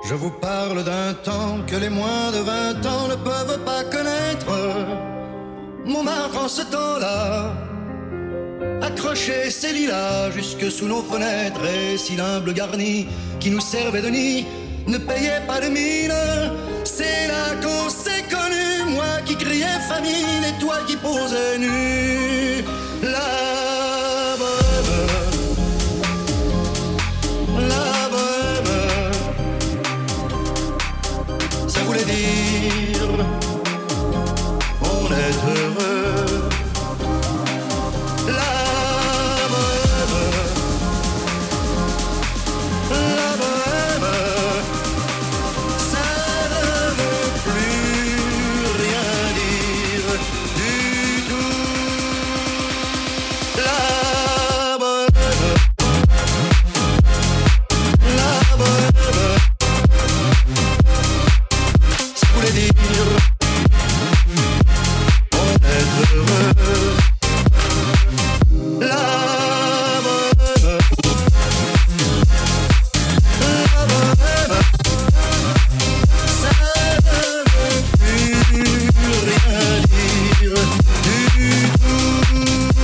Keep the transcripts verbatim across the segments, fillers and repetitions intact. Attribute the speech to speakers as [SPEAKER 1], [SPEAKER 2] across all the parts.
[SPEAKER 1] Je vous parle d'un temps que les moins de vingt ans ne peuvent pas connaître. Montmartre en ce temps-là accrochait ses lilas jusque sous nos fenêtres, et si l'humble garni qui nous servait de nid ne payait pas de mine, c'est là qu'on s'est connus, moi qui criais famine et toi qui posais nu. La bohème, la bohème, ça voulait dire on est heureux. La bohème, la bohème, ça ne veut plus rien dire du tout. La bohème, la bohème, ça voulait dire on est heureux. La bohème, la bohème, ça ne veut plus rien dire du tout.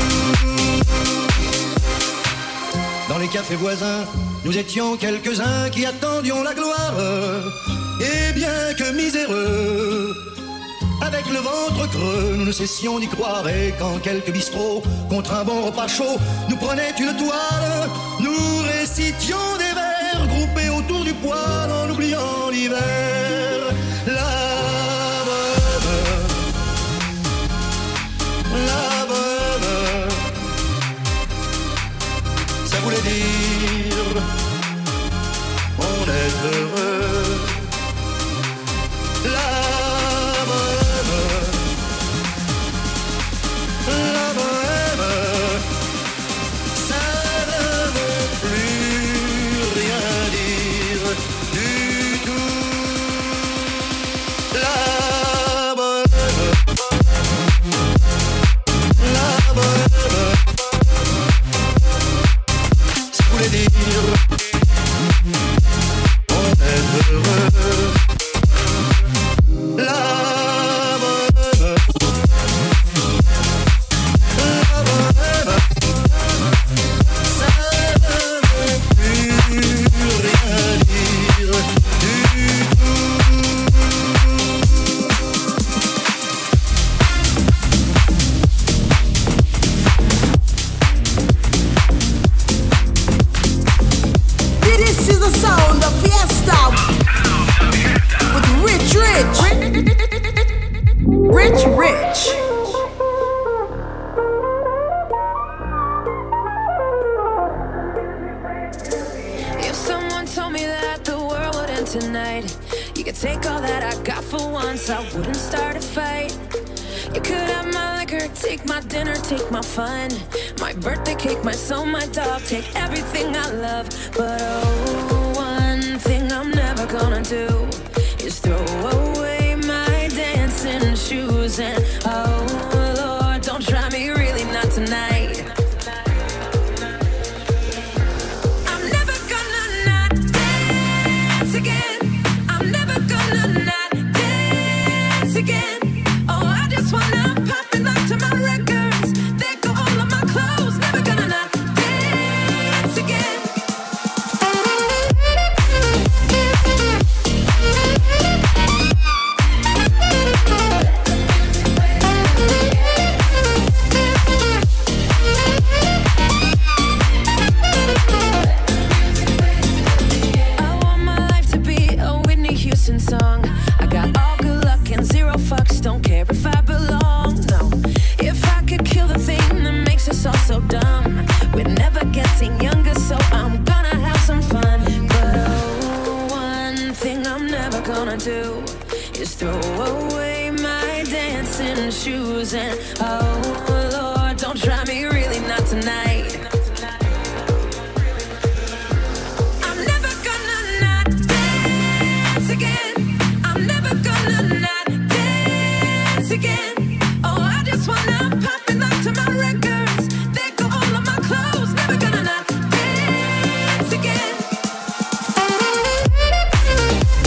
[SPEAKER 1] Dans les cafés voisins, nous étions quelques-uns qui attendions la gloire. Et bien que miséreux, avec le ventre creux, nous ne cessions d'y croire. Et quand quelques bistrots, contre un bon repas chaud, nous prenaient une toile, nous récitions des vers groupés autour du poêle en oubliant l'hiver. La bohème, la bohème, ça voulait dire on est heureux. La bohème, la bohème, ça ne veut plus rien dire du tout. La bohème, la bohème, ça voulait dire on est heureux. La bohème, la bohème, ça ne veut plus rien dire du tout.
[SPEAKER 2] This is the sound of Fiesta with Rich Rich. Rich Rich.
[SPEAKER 3] If someone told me that the world would end tonight, you could take all that I got for once, I wouldn't start a fight. You could have my liquor, take my dinner, take my fun, my birthday cake, my soul, my dog, take everything I love. But oh, one thing I'm never gonna do is throw away my dancing shoes. And oh Lord, don't try me, really not tonight. I'm never gonna not dance again. I'm never gonna not dance again. Oh, I just wanna pop and lock to my records. There go all of my clothes. Never gonna not dance again. I want my life to be a Whitney Houston song. I got all good luck and zero fucks. Don't care if I belong. No, if I could kill the thing that makes us all so dumb, we're never getting younger, so I'm gonna have some fun. But oh, one thing I'm never gonna do is throw away my dancing shoes. And oh Lord, don't try me, really not tonight. I'm never gonna not dance again. I'm never gonna not dance again. Oh, I just wanna pop and lock to my records. There go all of my clothes. Never gonna not dance again.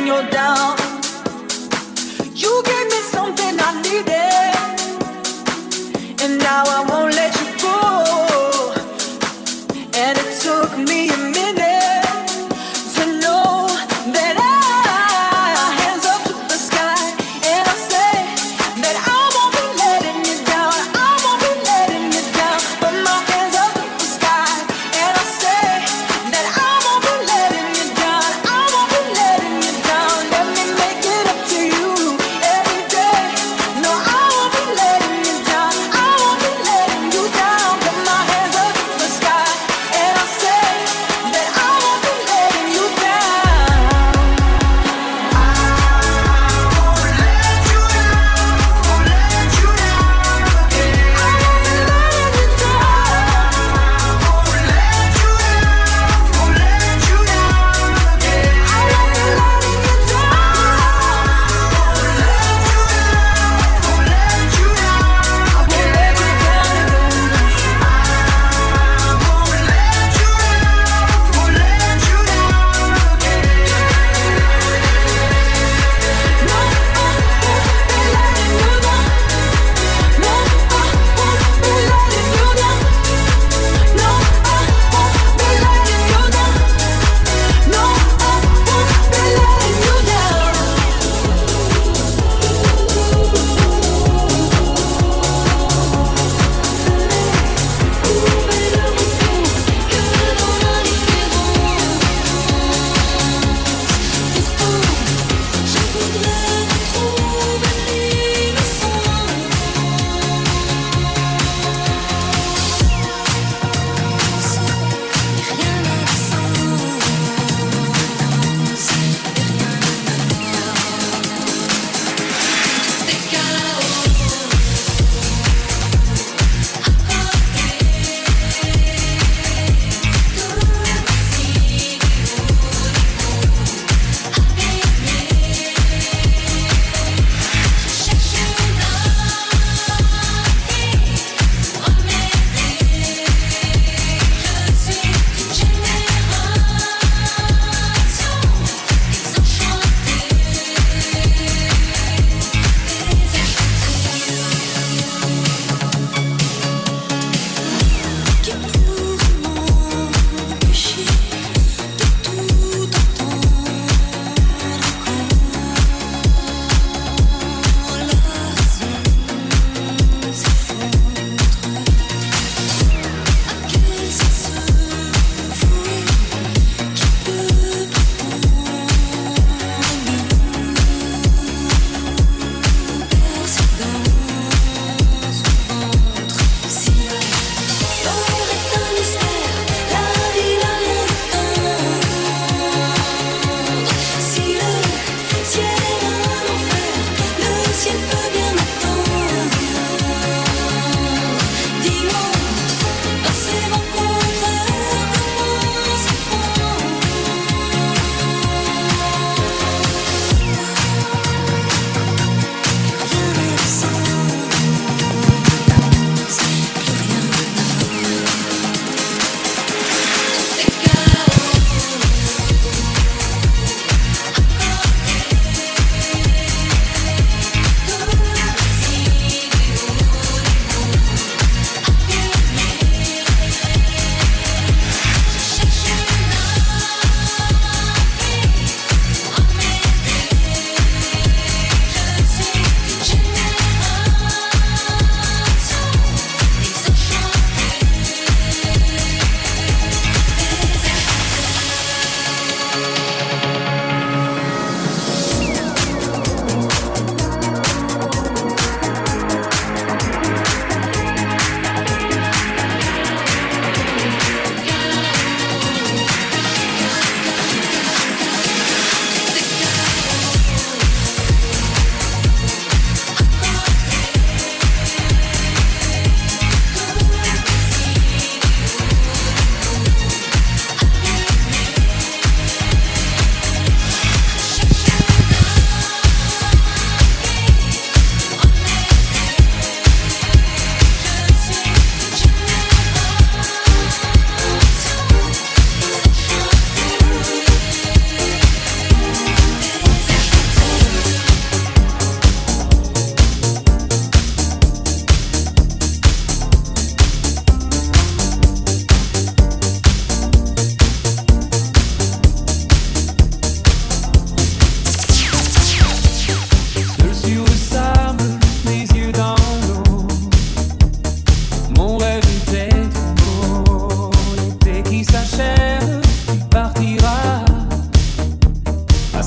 [SPEAKER 4] when you're down. You gave me something I needed, and now I won't let you go. And it took me a minute to know that I hands up to the sky, and I say that I won't be letting you down. I won't be letting you down. But my hands up to the sky, and I say that I won't be letting you down. I won't be letting you down. Let me make it up to you every day. No, I won't be letting you down. I won't be letting you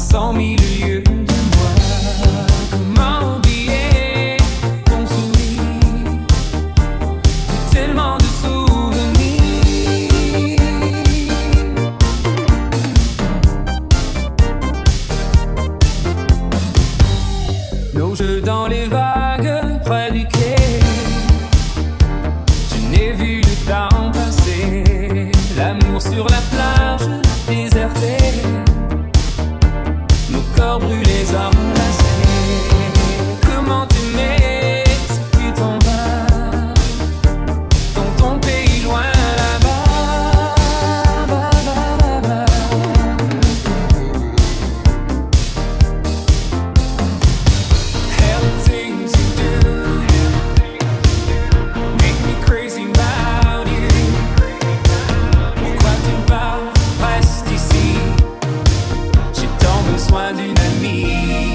[SPEAKER 5] cent mille lieues de moi. Comment oublier ton sourire, tellement de souvenirs. Nos jeux dans les vagues près du quai, je n'ai vu le temps passer. L'amour sur la plage désertée, nos corps brûlés enlacés. Comment t'aimer si tu t'en vas dans ton pays loin là-bas, bah, bah, bah, bah. Hell, the things you do make me crazy about you. Pourquoi tu pars, reste ici, j'ai tant besoin d'une amie.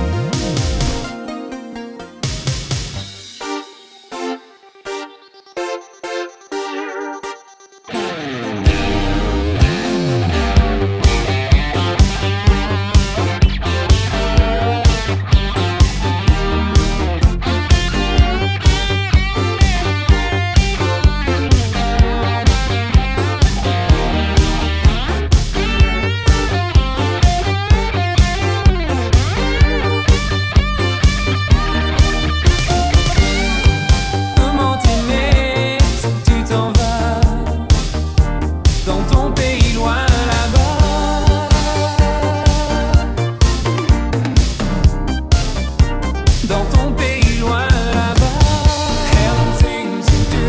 [SPEAKER 5] Comment t'aimer si tu t'en vas dans ton pays loin là-bas, dans ton pays loin là-bas. Hell, the things you do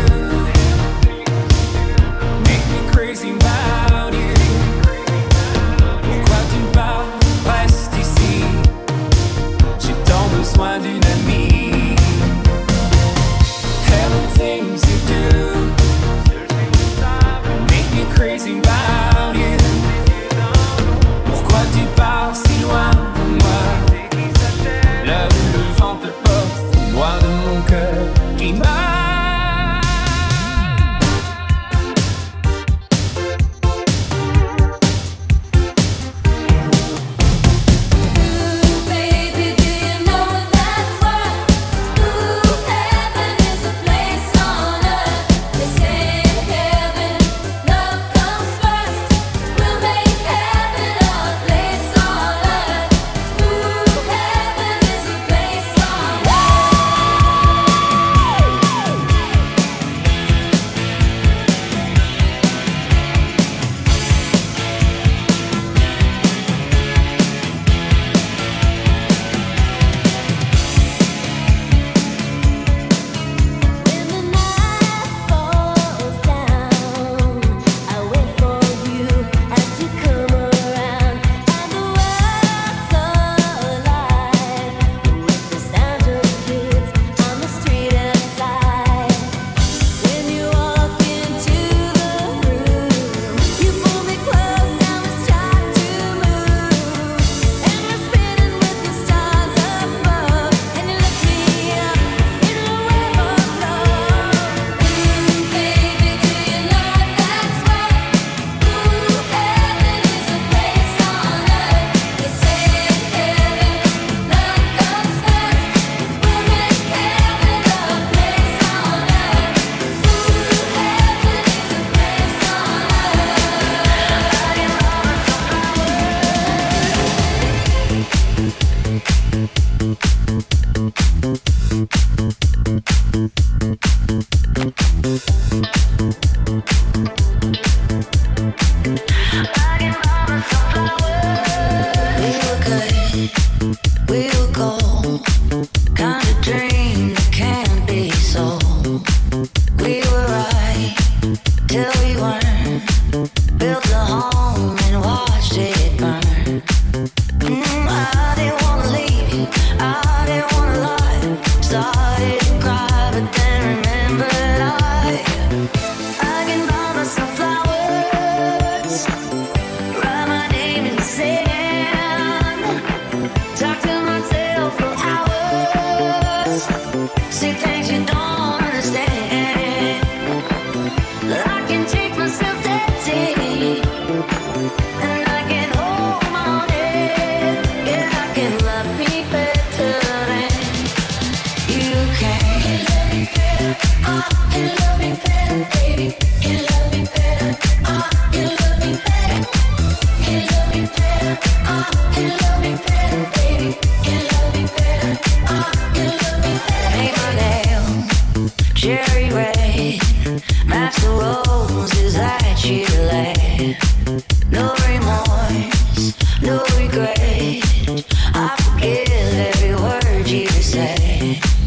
[SPEAKER 5] make me crazy about you. Pourquoi tu pars, reste ici, j'ai tant besoin d'une amie. Hell, the things you do make me crazy about you. Pourquoi tu pars si loin de moi, là où le vent te porte?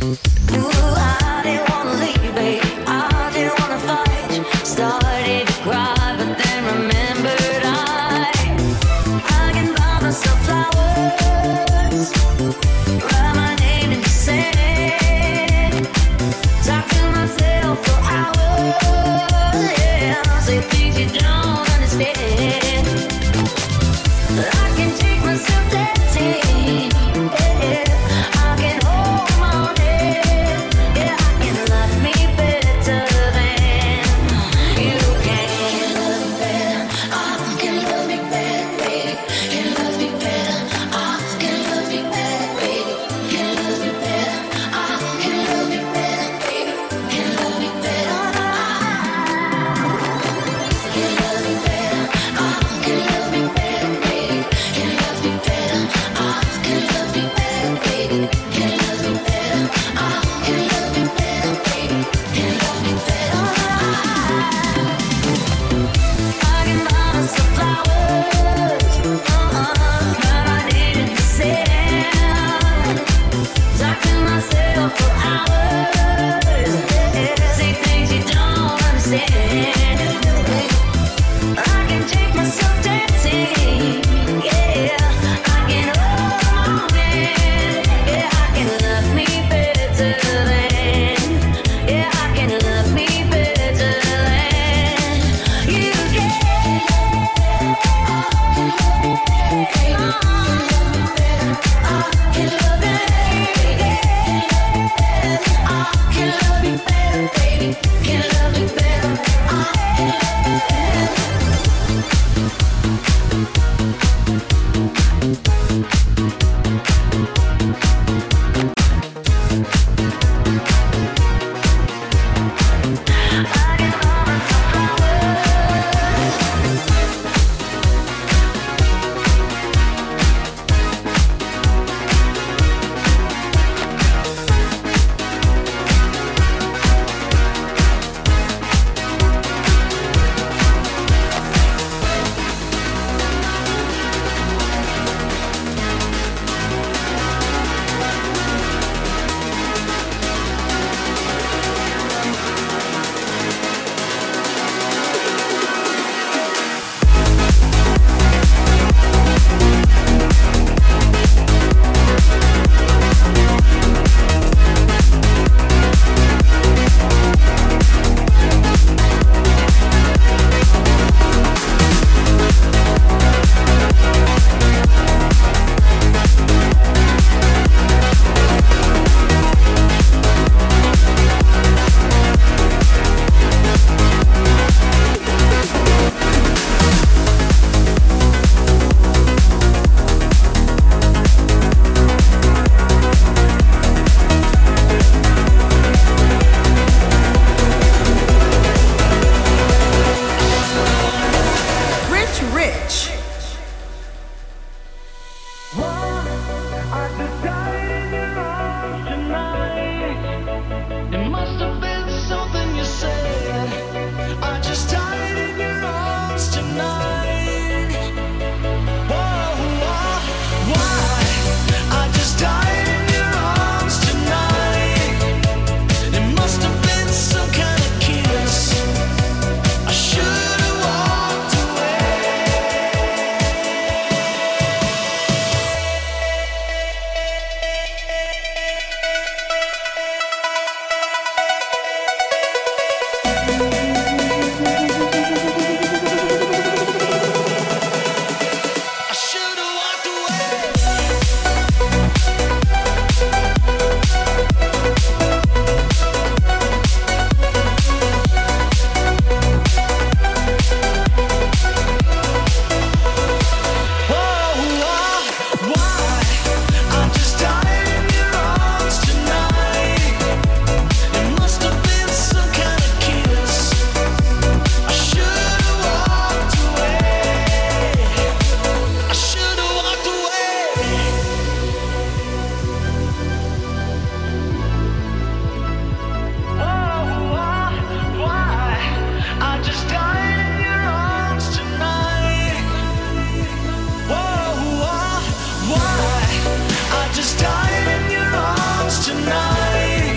[SPEAKER 6] Just died in your arms tonight.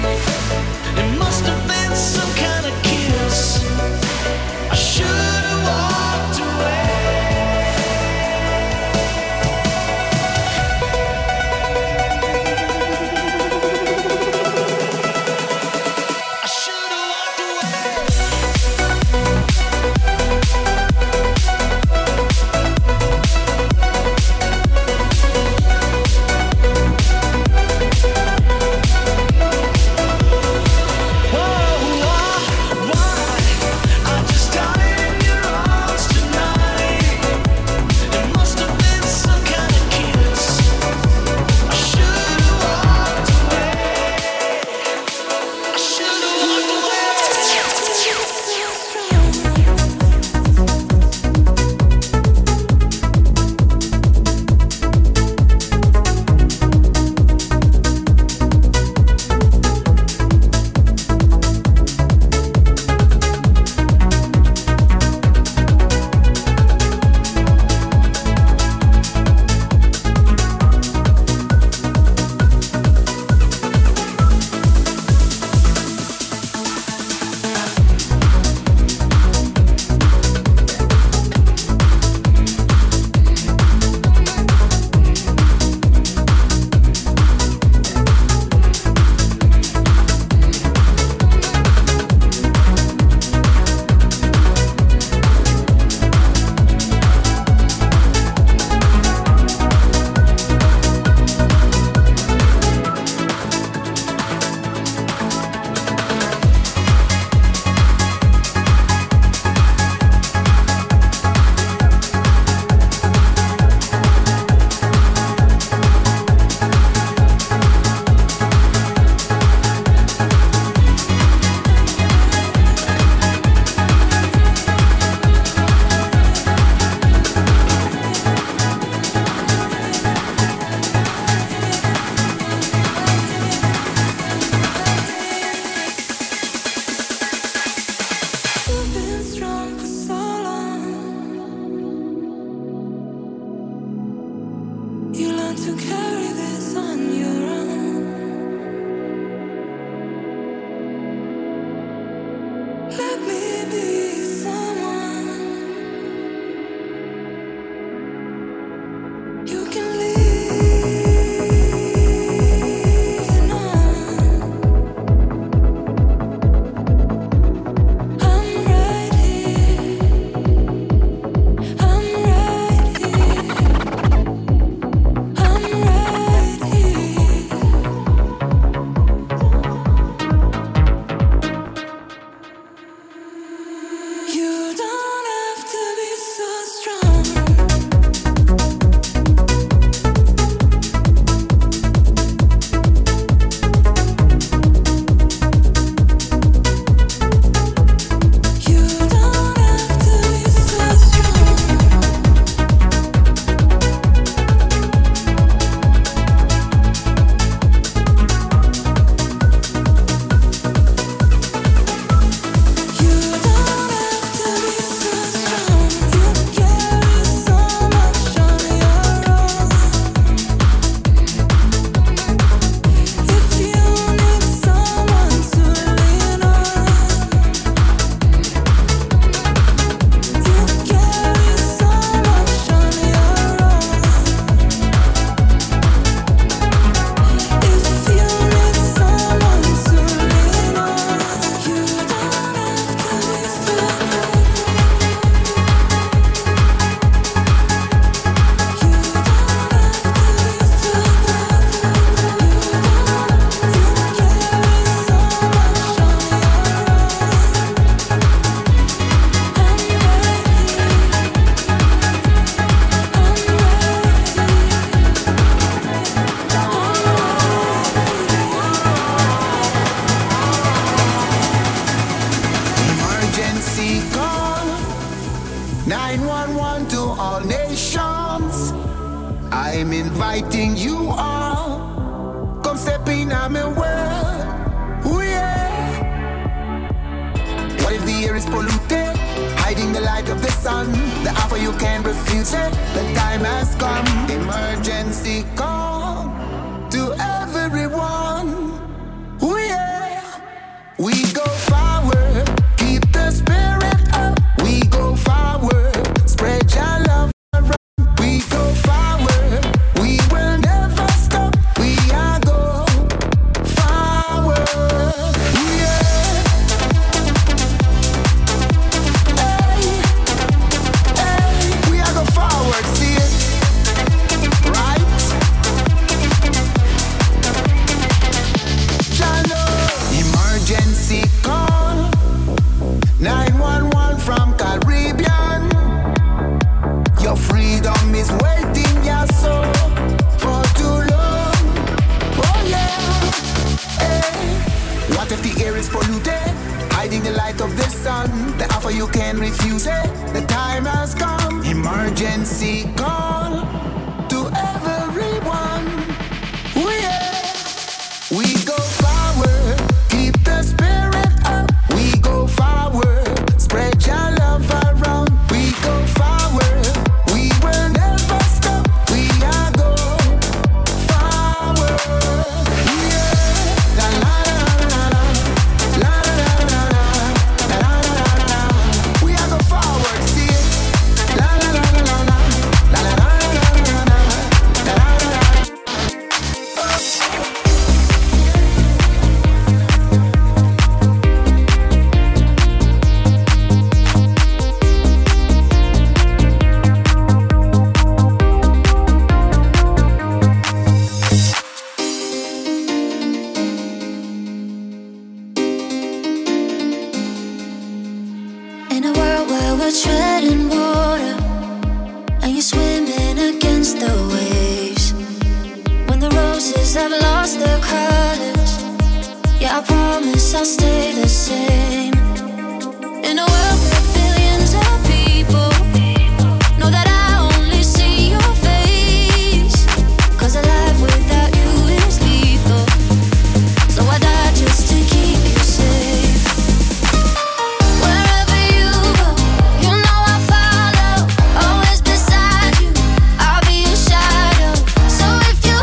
[SPEAKER 6] nine one one to all nations. I'm inviting you all. Come step in on my world. Ooh, yeah. What if the air is polluted? Hiding the light of the sun. The offer you can't refuse it. The time has come. Emergency call to everyone. Ooh, yeah. We go forward. Keep the spirit up. We go forward. Spread your love around. We go forward. We will never stop. We are go forward. Ooh, yeah. Hey, hey. We are go forward. See it? Right? Emergency call nine one one from Caribbean. Your freedom is waiting, your soul, for too long. Oh yeah. Hey. What if the air is polluted? Hiding the light of the sun. The offer you can't refuse it. The time has come. Emergency call to everyone. Oh yeah. We go forward. Keep the spirit up. We go forward. Spread your love around. We go forward. We will never stop. We are go forward. Yeah. La la la la la la la la la la la. We are go forward. See it? La la la la la la la la la la la la.
[SPEAKER 3] In a world where we're treading water and you're swimming against the waves, when the roses have lost their colors, yeah, I promise I'll stay the same. In a world with billions of people, know that I only see your face, 'cause a life without you is lethal, so I die just to keep you safe. Wherever you go, you know I'll follow, always beside you, I'll be your shadow. So if you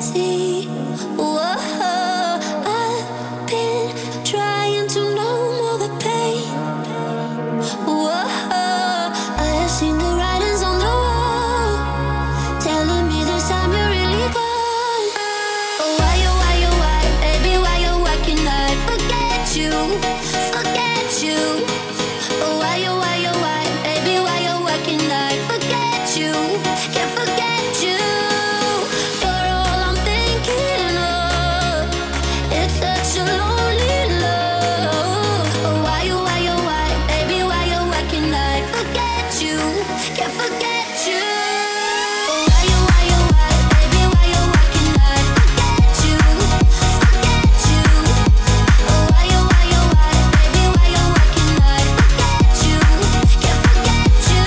[SPEAKER 3] see. Whoa, I've been trying to numb all the pain. Whoa, I have seen the writings on the wall, telling me this time you're really gone. Oh, why, oh, why, oh, why, baby, why, oh, why can I forget you, forget you? Oh, why, oh, why, oh, why, baby, why, oh, why can I forget you, can't forget you? You're all I'm thinking of, it's such a lonely love. Oh, why, oh, why, oh, why, baby, why, oh, why can I forget you, can't forget you? Oh, why, oh, why, oh, why, baby, why, oh, why can I forget you, forget you? Oh, why, oh, why, oh, why, baby, why, oh, why can I forget you, can't forget you?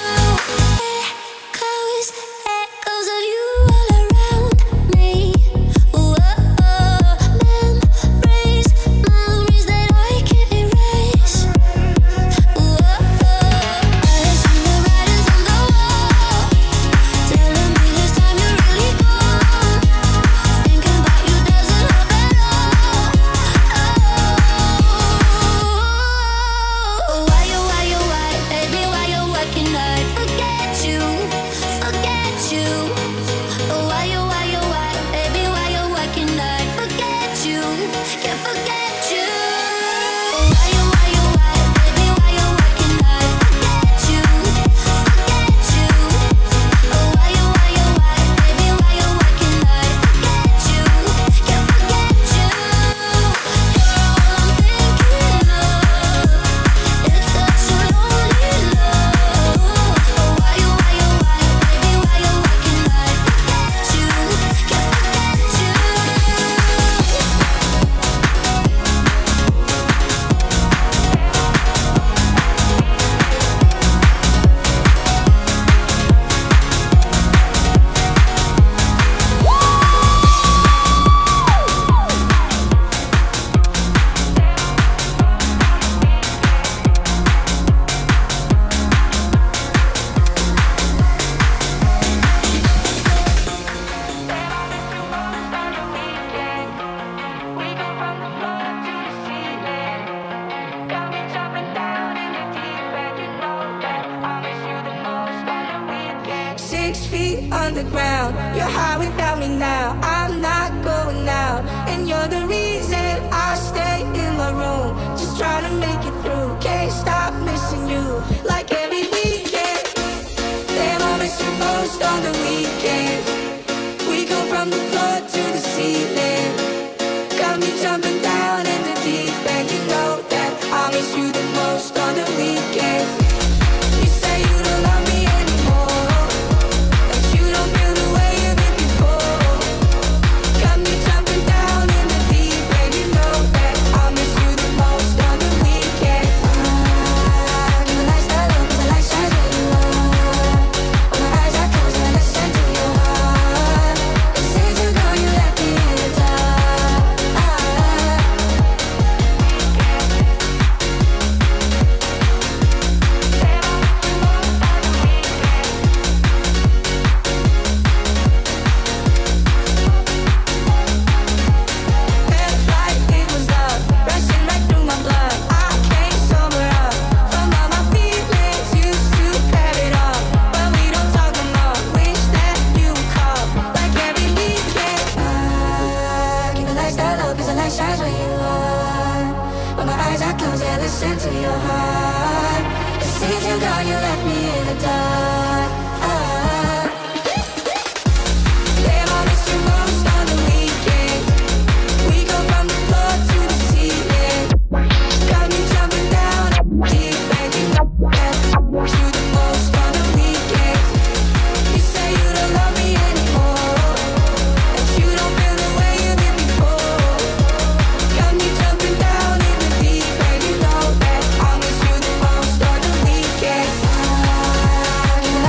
[SPEAKER 3] Echoes, echoes of you all around me. Whoa, memories, memories that I can't erase. Whoa, I have seen the writings on the wall, telling me this time you're really gone. Thinking about you doesn't help at all. Oh, why, oh, why, oh, why, baby, why, oh, why can I forget you, forget you? Oh, why, oh, why, oh, why, baby, why, oh, why can I forget you, can't forget you? Oh, why, oh, why, oh, why, baby, why, oh, why can I forget you, forget you? Oh, why, oh, why, oh, why, baby, why, oh, why can I forget you, can't forget you? You're all I'm thinking of, it's such a lonely love. Oh, why, oh, why, oh, why, baby, why, oh, why can I forget you, can't forget you?
[SPEAKER 4] Six feet underground, you're high without me now. I'm not going out, and you're the reason I stay in my room, just trying to make it through. Can't stop missing you, like every weekend. Damn, I miss you most on the weekend. We go from the floor to the ceiling, got me jumping down in the deep end. You know that I miss you the most on the weekends. You say you don't love me anymore, that you don't feel the way you did before. Got me jumping down in the deep end. You know that I miss you the most on the weekend. Ah, give a nice that love, 'cause the light shines where you are. When my eyes are closed and I listen to your heart, it says you know you left me in the dark. Ah, felt like it was love, rushing right through my blood. I can't sober up from all my feelings. Used to have it all, but we don't talk no more. Wish that you would call, like every weekend. Ah, give a light that love, 'cause the light shines where you are. When my eyes are closed, yeah, listen to your heart. It seems you gone, you left me in the dark. Ah. Damn, I miss you most on the weekend. We go from the floor to the ceiling, got me jumping down deep and you know that I want you the most on the weekend. You say you don't love me anymore, that you don't feel the way you did before. Got me jumping down in the deep and you know that I miss you the most on the weekend. Ah, give a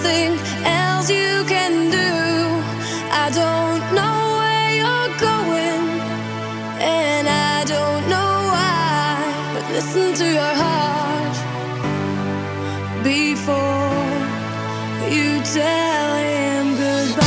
[SPEAKER 3] nothing else you can do. I don't know where you're going, and I don't know why, but listen to your heart before you tell him goodbye.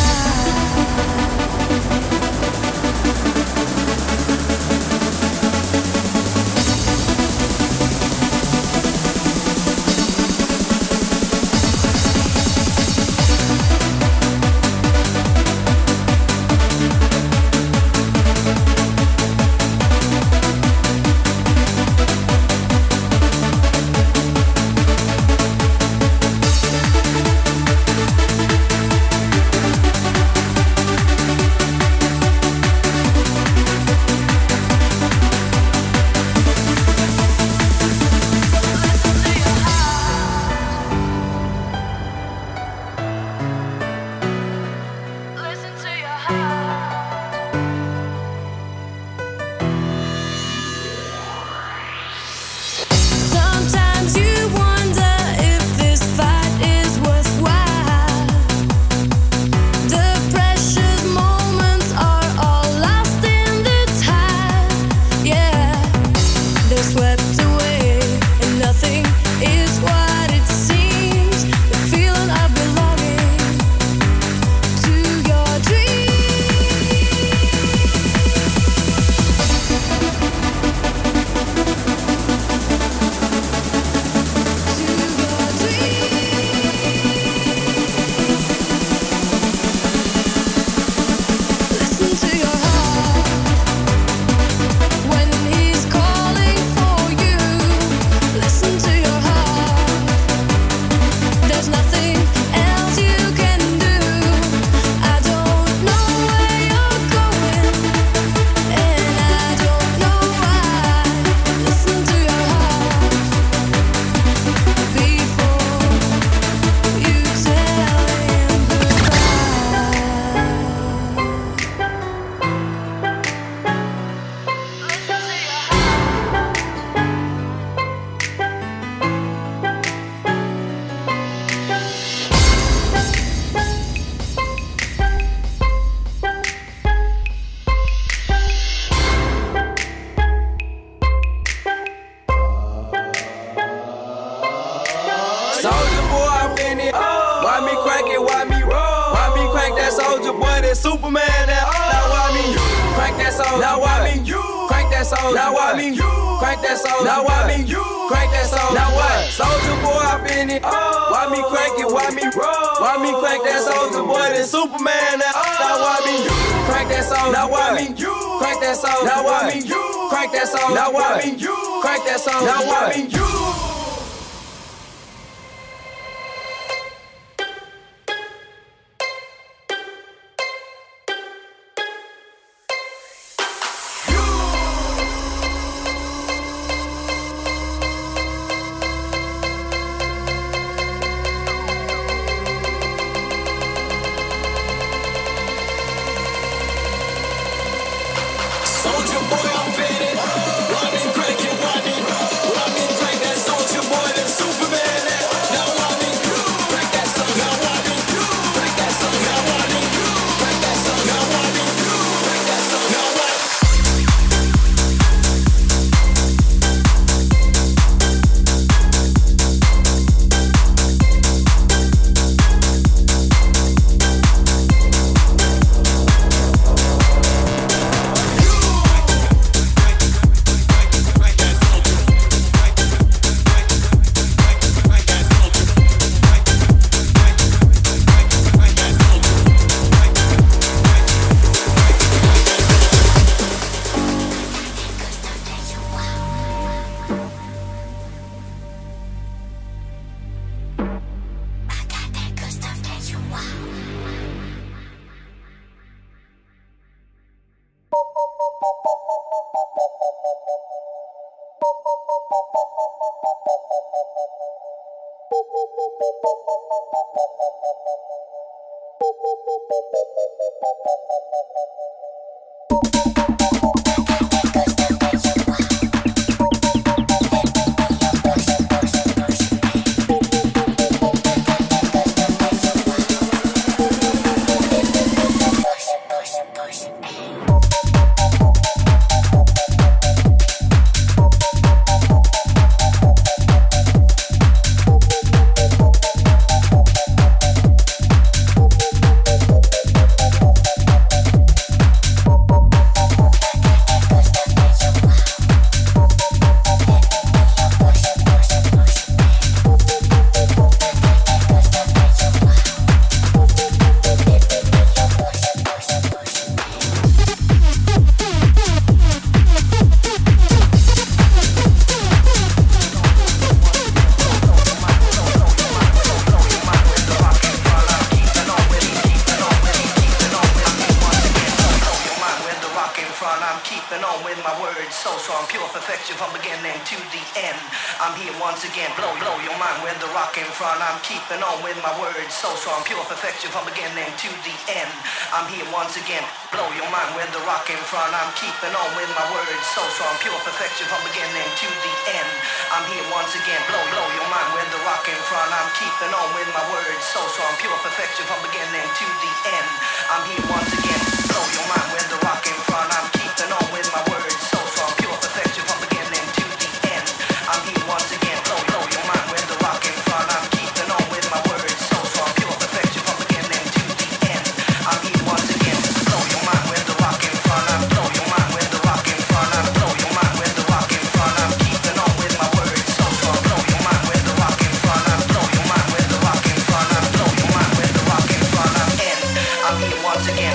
[SPEAKER 7] my words so strong, pure perfection from beginning to the end. I'm here once again, blow, blow your mind with the rock in front. I'm keeping on with my words so strong, pure perfection from beginning to the end. I'm here once again, blow your mind with the rock in front. I'm keeping on with my words so strong, pure perfection from beginning to the end. I'm here once again, blow, blow your mind with the rock in front. I'm keeping on with my words so strong, pure perfection from beginning to the end. I'm here once again, blow your mind with the rock in front. I'm keeping on with my words so strong, pure perfection from beginning to the end. I'm here once again, blow, blow your mind with the rock in front. I'm keeping on with my words so strong, pure perfection from beginning to the end. I'm here once again, blow your mind with the rock in front. I'm blow your mind with the rock in front. I'm blow your mind with the rock in front. I'm keeping on with my words so strong, blow your mind with the rock in front. I'm blow your mind with the rock in front. I'm blow your mind with the rock in front. I'm in. I'm here once again.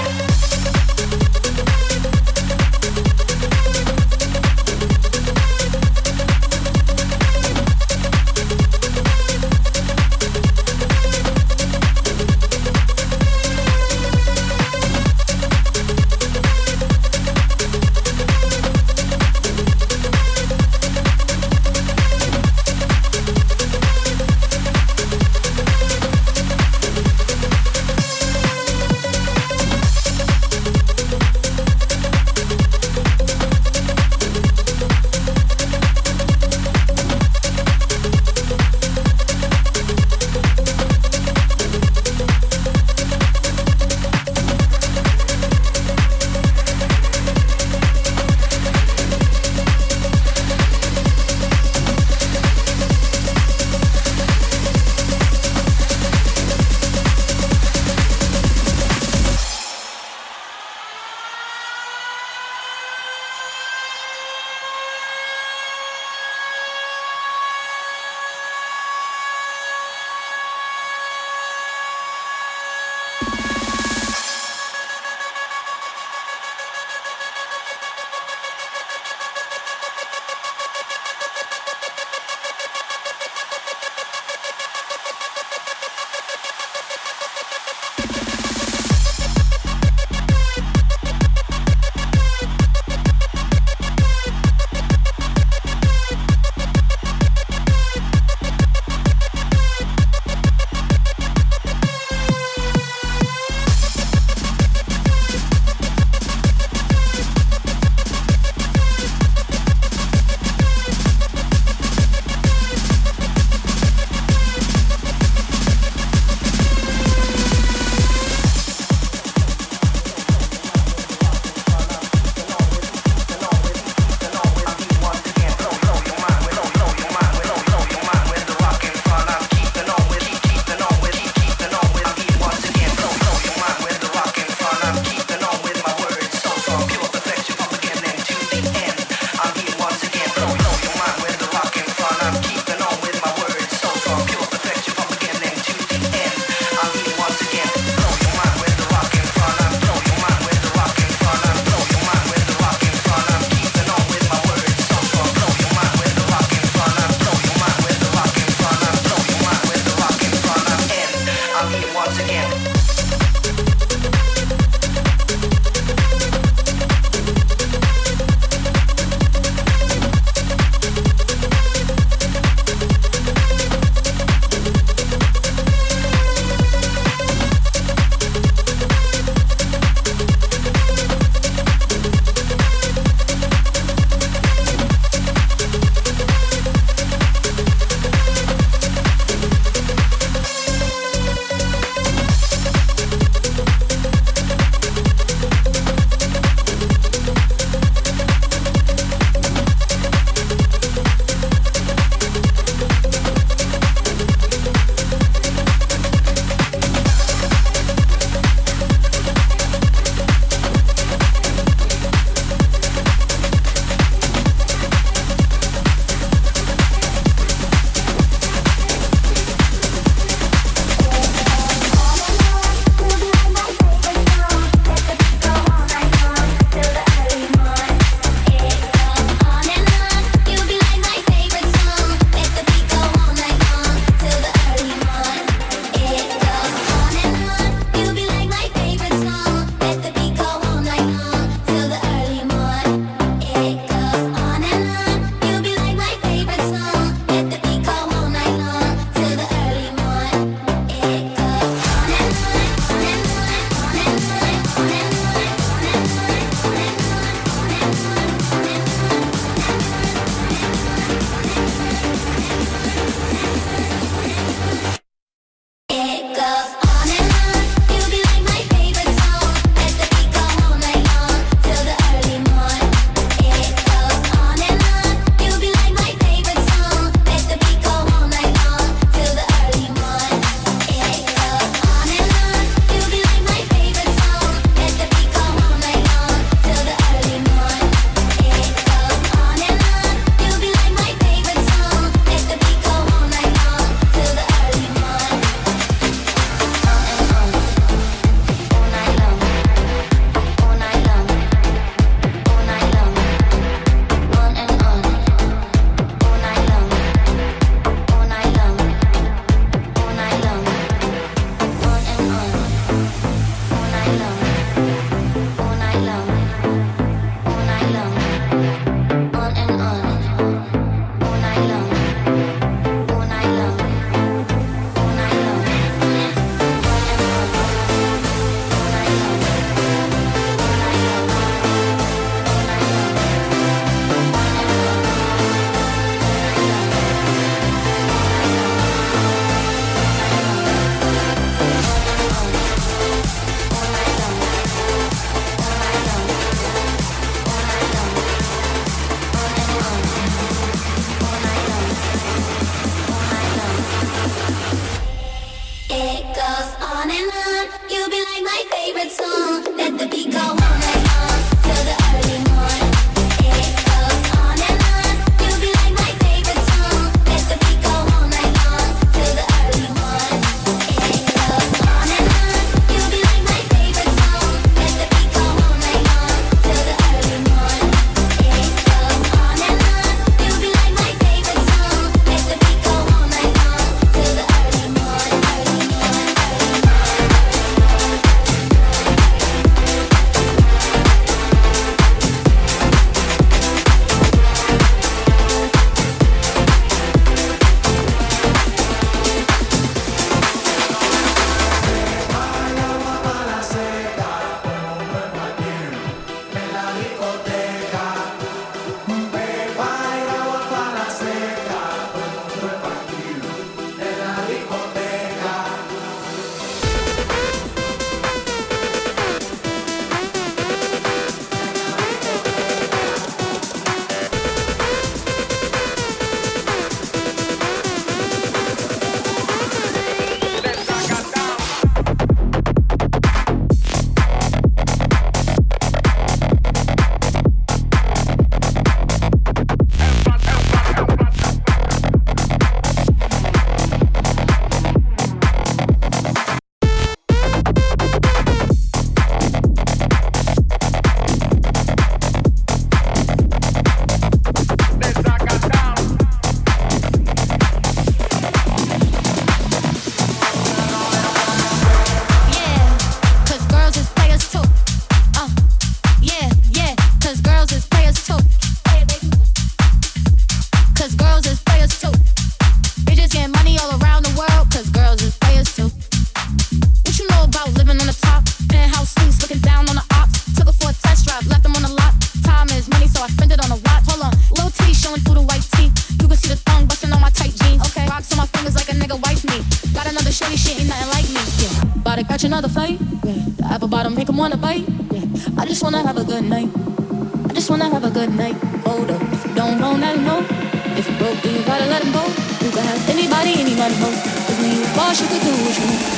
[SPEAKER 3] to catch another fight. Yeah. The apple bottom make 'em wanna bite. Yeah. I just wanna have a good night. I just wanna have a good night. Hold up, if you don't know, now you know. If you broke, then you gotta let him go. You can have anybody, any money, mo. Cause when you a boss, you can do what you want.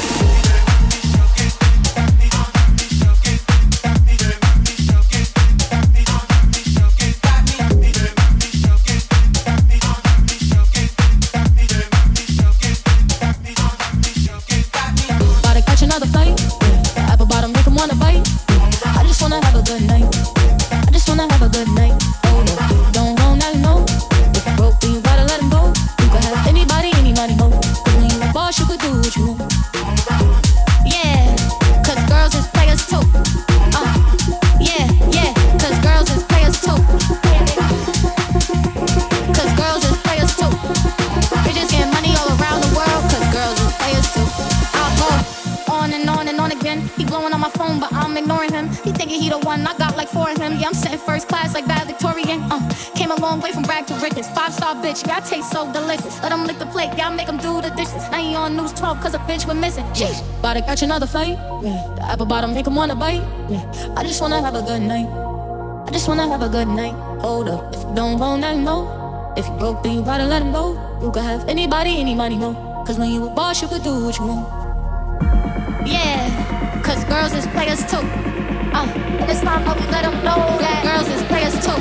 [SPEAKER 8] Yeah, I taste so delicious. Let him lick the plate, yeah, I make him do the dishes. Now he on news twelve cause a bitch we're missing. Sheesh.
[SPEAKER 3] Yeah. About to catch another fight. Yeah. The apple bottom make him wanna bite. Yeah. I just wanna have a good night. I just wanna have a good night. Hold up, if you don't know, now you know. If you broke, then you gotta let him go. You can have anybody, any money, mo. Cause when you a boss, you could do what you want.
[SPEAKER 8] Yeah, cause girls is players too. Uh, and it's time that we let them know that girls is players too.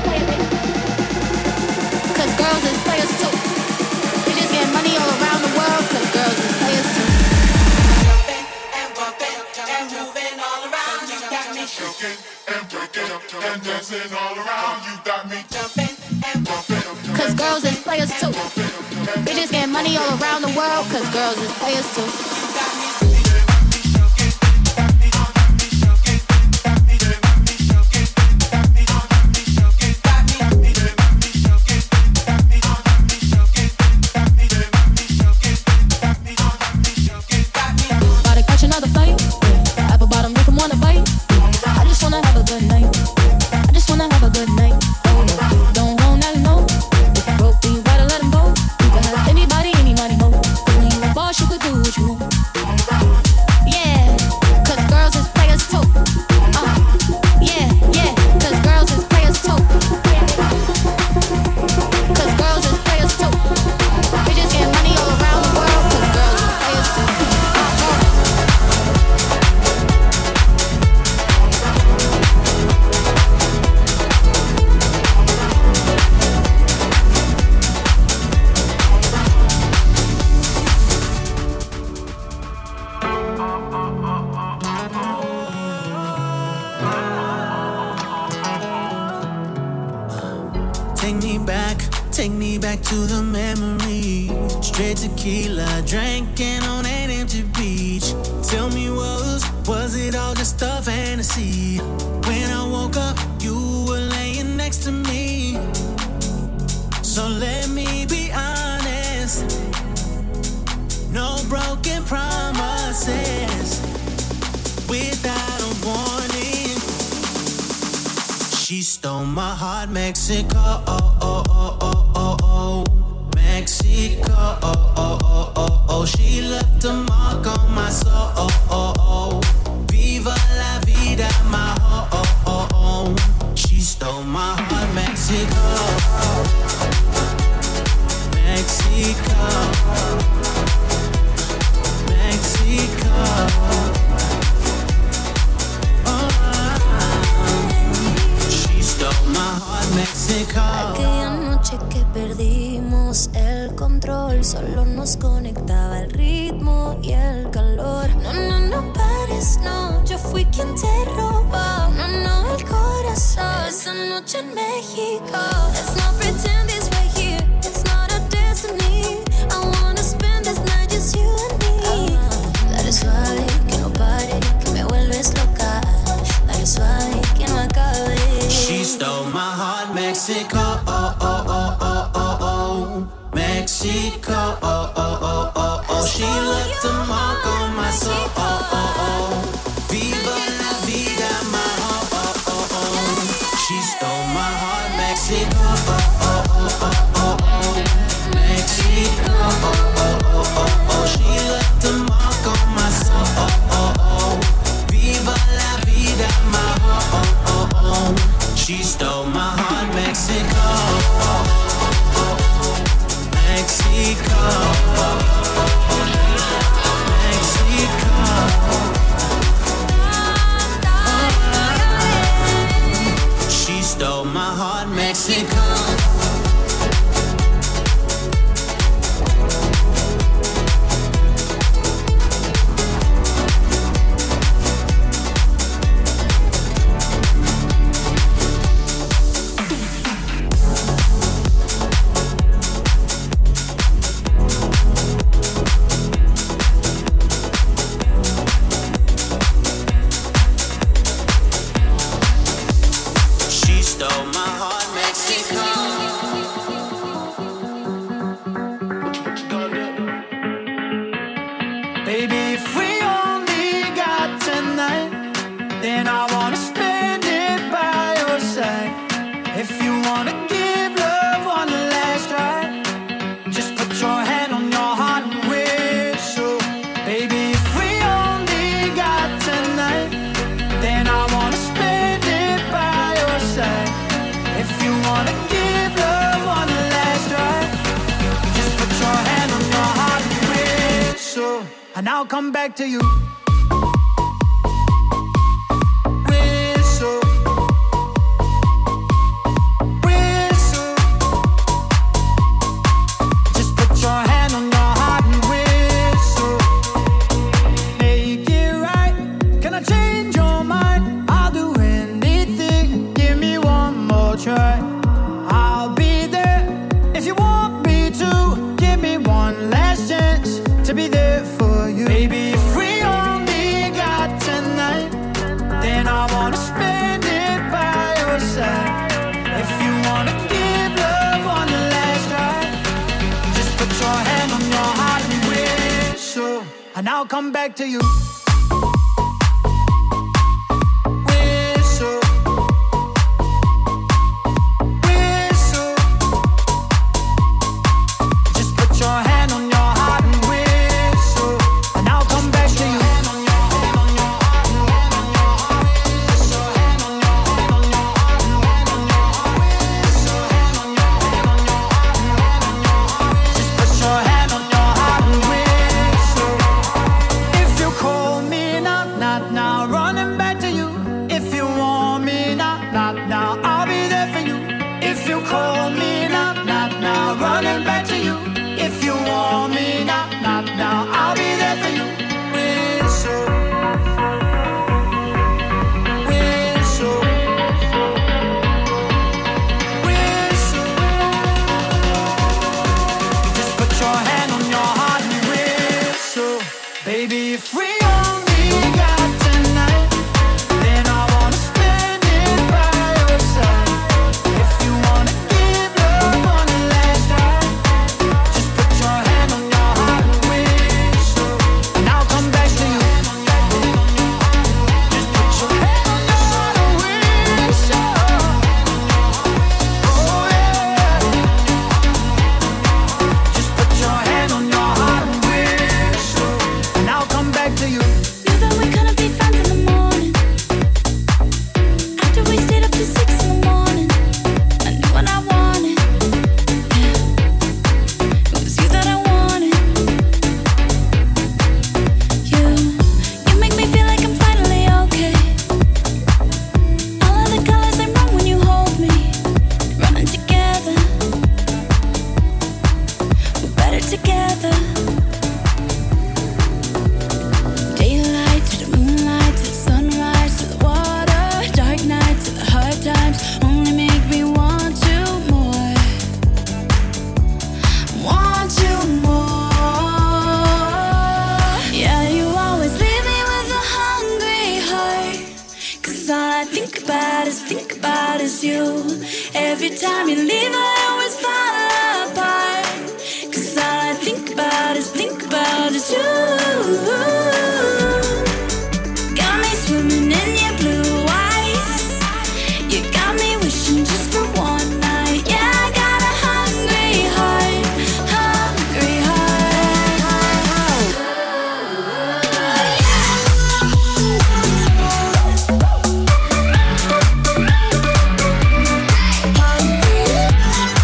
[SPEAKER 8] Cause girls is players too. We just get money all around the world. Cause girls is players too.
[SPEAKER 4] Jumping and bumping and moving all around. You got me shaking and breaking and dancing all around. You got me jumping and bumping.
[SPEAKER 8] Cause girls is players too. We just get money all around the world. Cause girls is players too.
[SPEAKER 4] You got me.
[SPEAKER 6] Mexico, oh, oh, oh, oh, oh, oh. Mexico, oh, oh, oh, oh, oh. She left a mark on my soul, oh, oh, oh. Viva la vida, my oh, oh, oh, oh. She stole my heart, Mexico, Mexico, Mexico.
[SPEAKER 9] Aquella noche que perdimos el control, solo nos conectaba el ritmo y el calor. No, no, no pares, no, yo fui quien te robó. No, no, el corazón. Esa noche en México. Let's not pretend this right here. It's not a destiny. I wanna spend this night just you and me. Uh, dale suave, que no pare, que me vuelves loca. Dale suave, que no acabe.
[SPEAKER 6] She stole my heart, Mexico, oh, oh, oh, oh, oh, oh. Mexico, oh, oh, oh, oh, oh. She left a mark on my soul, oh, oh, oh. Viva la vida, my oh, oh, oh, oh. She stole my heart, Mexico, oh.
[SPEAKER 10] and I'll come back to you.
[SPEAKER 6] Whistle, whistle.
[SPEAKER 10] Just put your hand on your heart and whistle. Make it right. Can I change your mind? I'll do anything. Give me one more try. I'll be there if you want me to. Give me one last chance to be there for you. Baby, if we only got tonight, then I wanna spend it by your side. If you wanna give love one last try, just put your hand on your heart and whistle, and I'll come back to you.
[SPEAKER 6] Whistle, whistle.
[SPEAKER 10] Just put your hand on your heart and whistle, and I'll come back to you. Just put your hand on your heart and whistle. If you call me now, not now, running back to you. If you want me now, not now, I'll be there for you. If you call me now, not now, running back to you. If you want me now, not now, I'll be there for you.
[SPEAKER 6] Whistle, whistle, whistle.
[SPEAKER 10] Just put your hand on your heart and whistle. Baby, if we only got tonight, then I wanna spend it by your side. If you wanna give love one last try, just put your hand on your heart and whistle, and I'll come back to you. Just put your hand on your heart and whistle. Oh yeah. Just put your hand on your heart and whistle, and I'll come back to you.
[SPEAKER 9] Knew that we couldn't be friends in the morning. After we stayed up till six in the morning, I knew what I wanted. Yeah, it was you that I wanted. You, you make me feel like I'm finally okay. All of the colors they run when you hold me, running together. We're better together. Daylight to the moonlight to the sunrise to the water. Dark nights to the hard times only make me want you more. Want you more. Yeah, you always leave me with a hungry heart. 'Cause all I think about is, think about is you. Every time you leave, I always fall apart. 'Cause all I think about is, think about is you. Got me swimming in your blue eyes. You got me wishing just for one night. Yeah, I got a hungry heart, hungry heart. Hungry.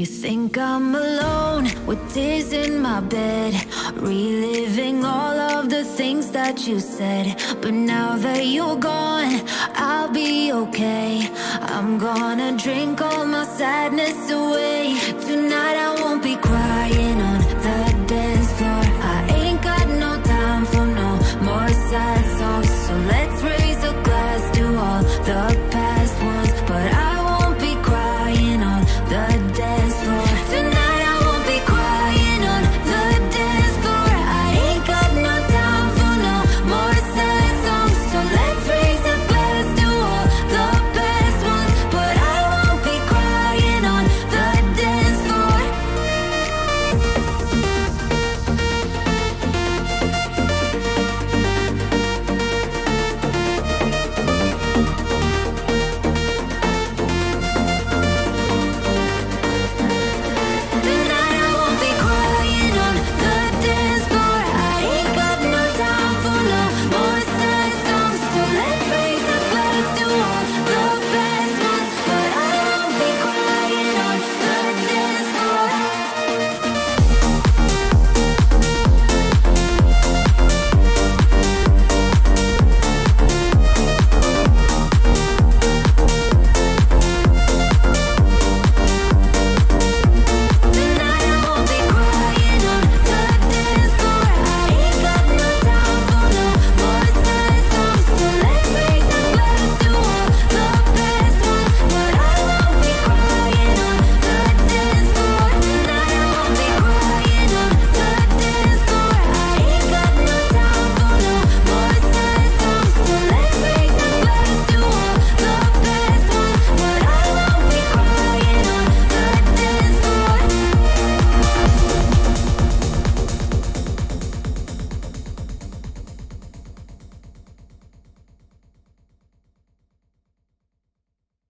[SPEAKER 3] You think I'm alone with tears in my bed, reliving all of the things that you said. But now that you're gone, I'll be okay. I'm gonna drink all my sadness away. Tonight I won't be crying on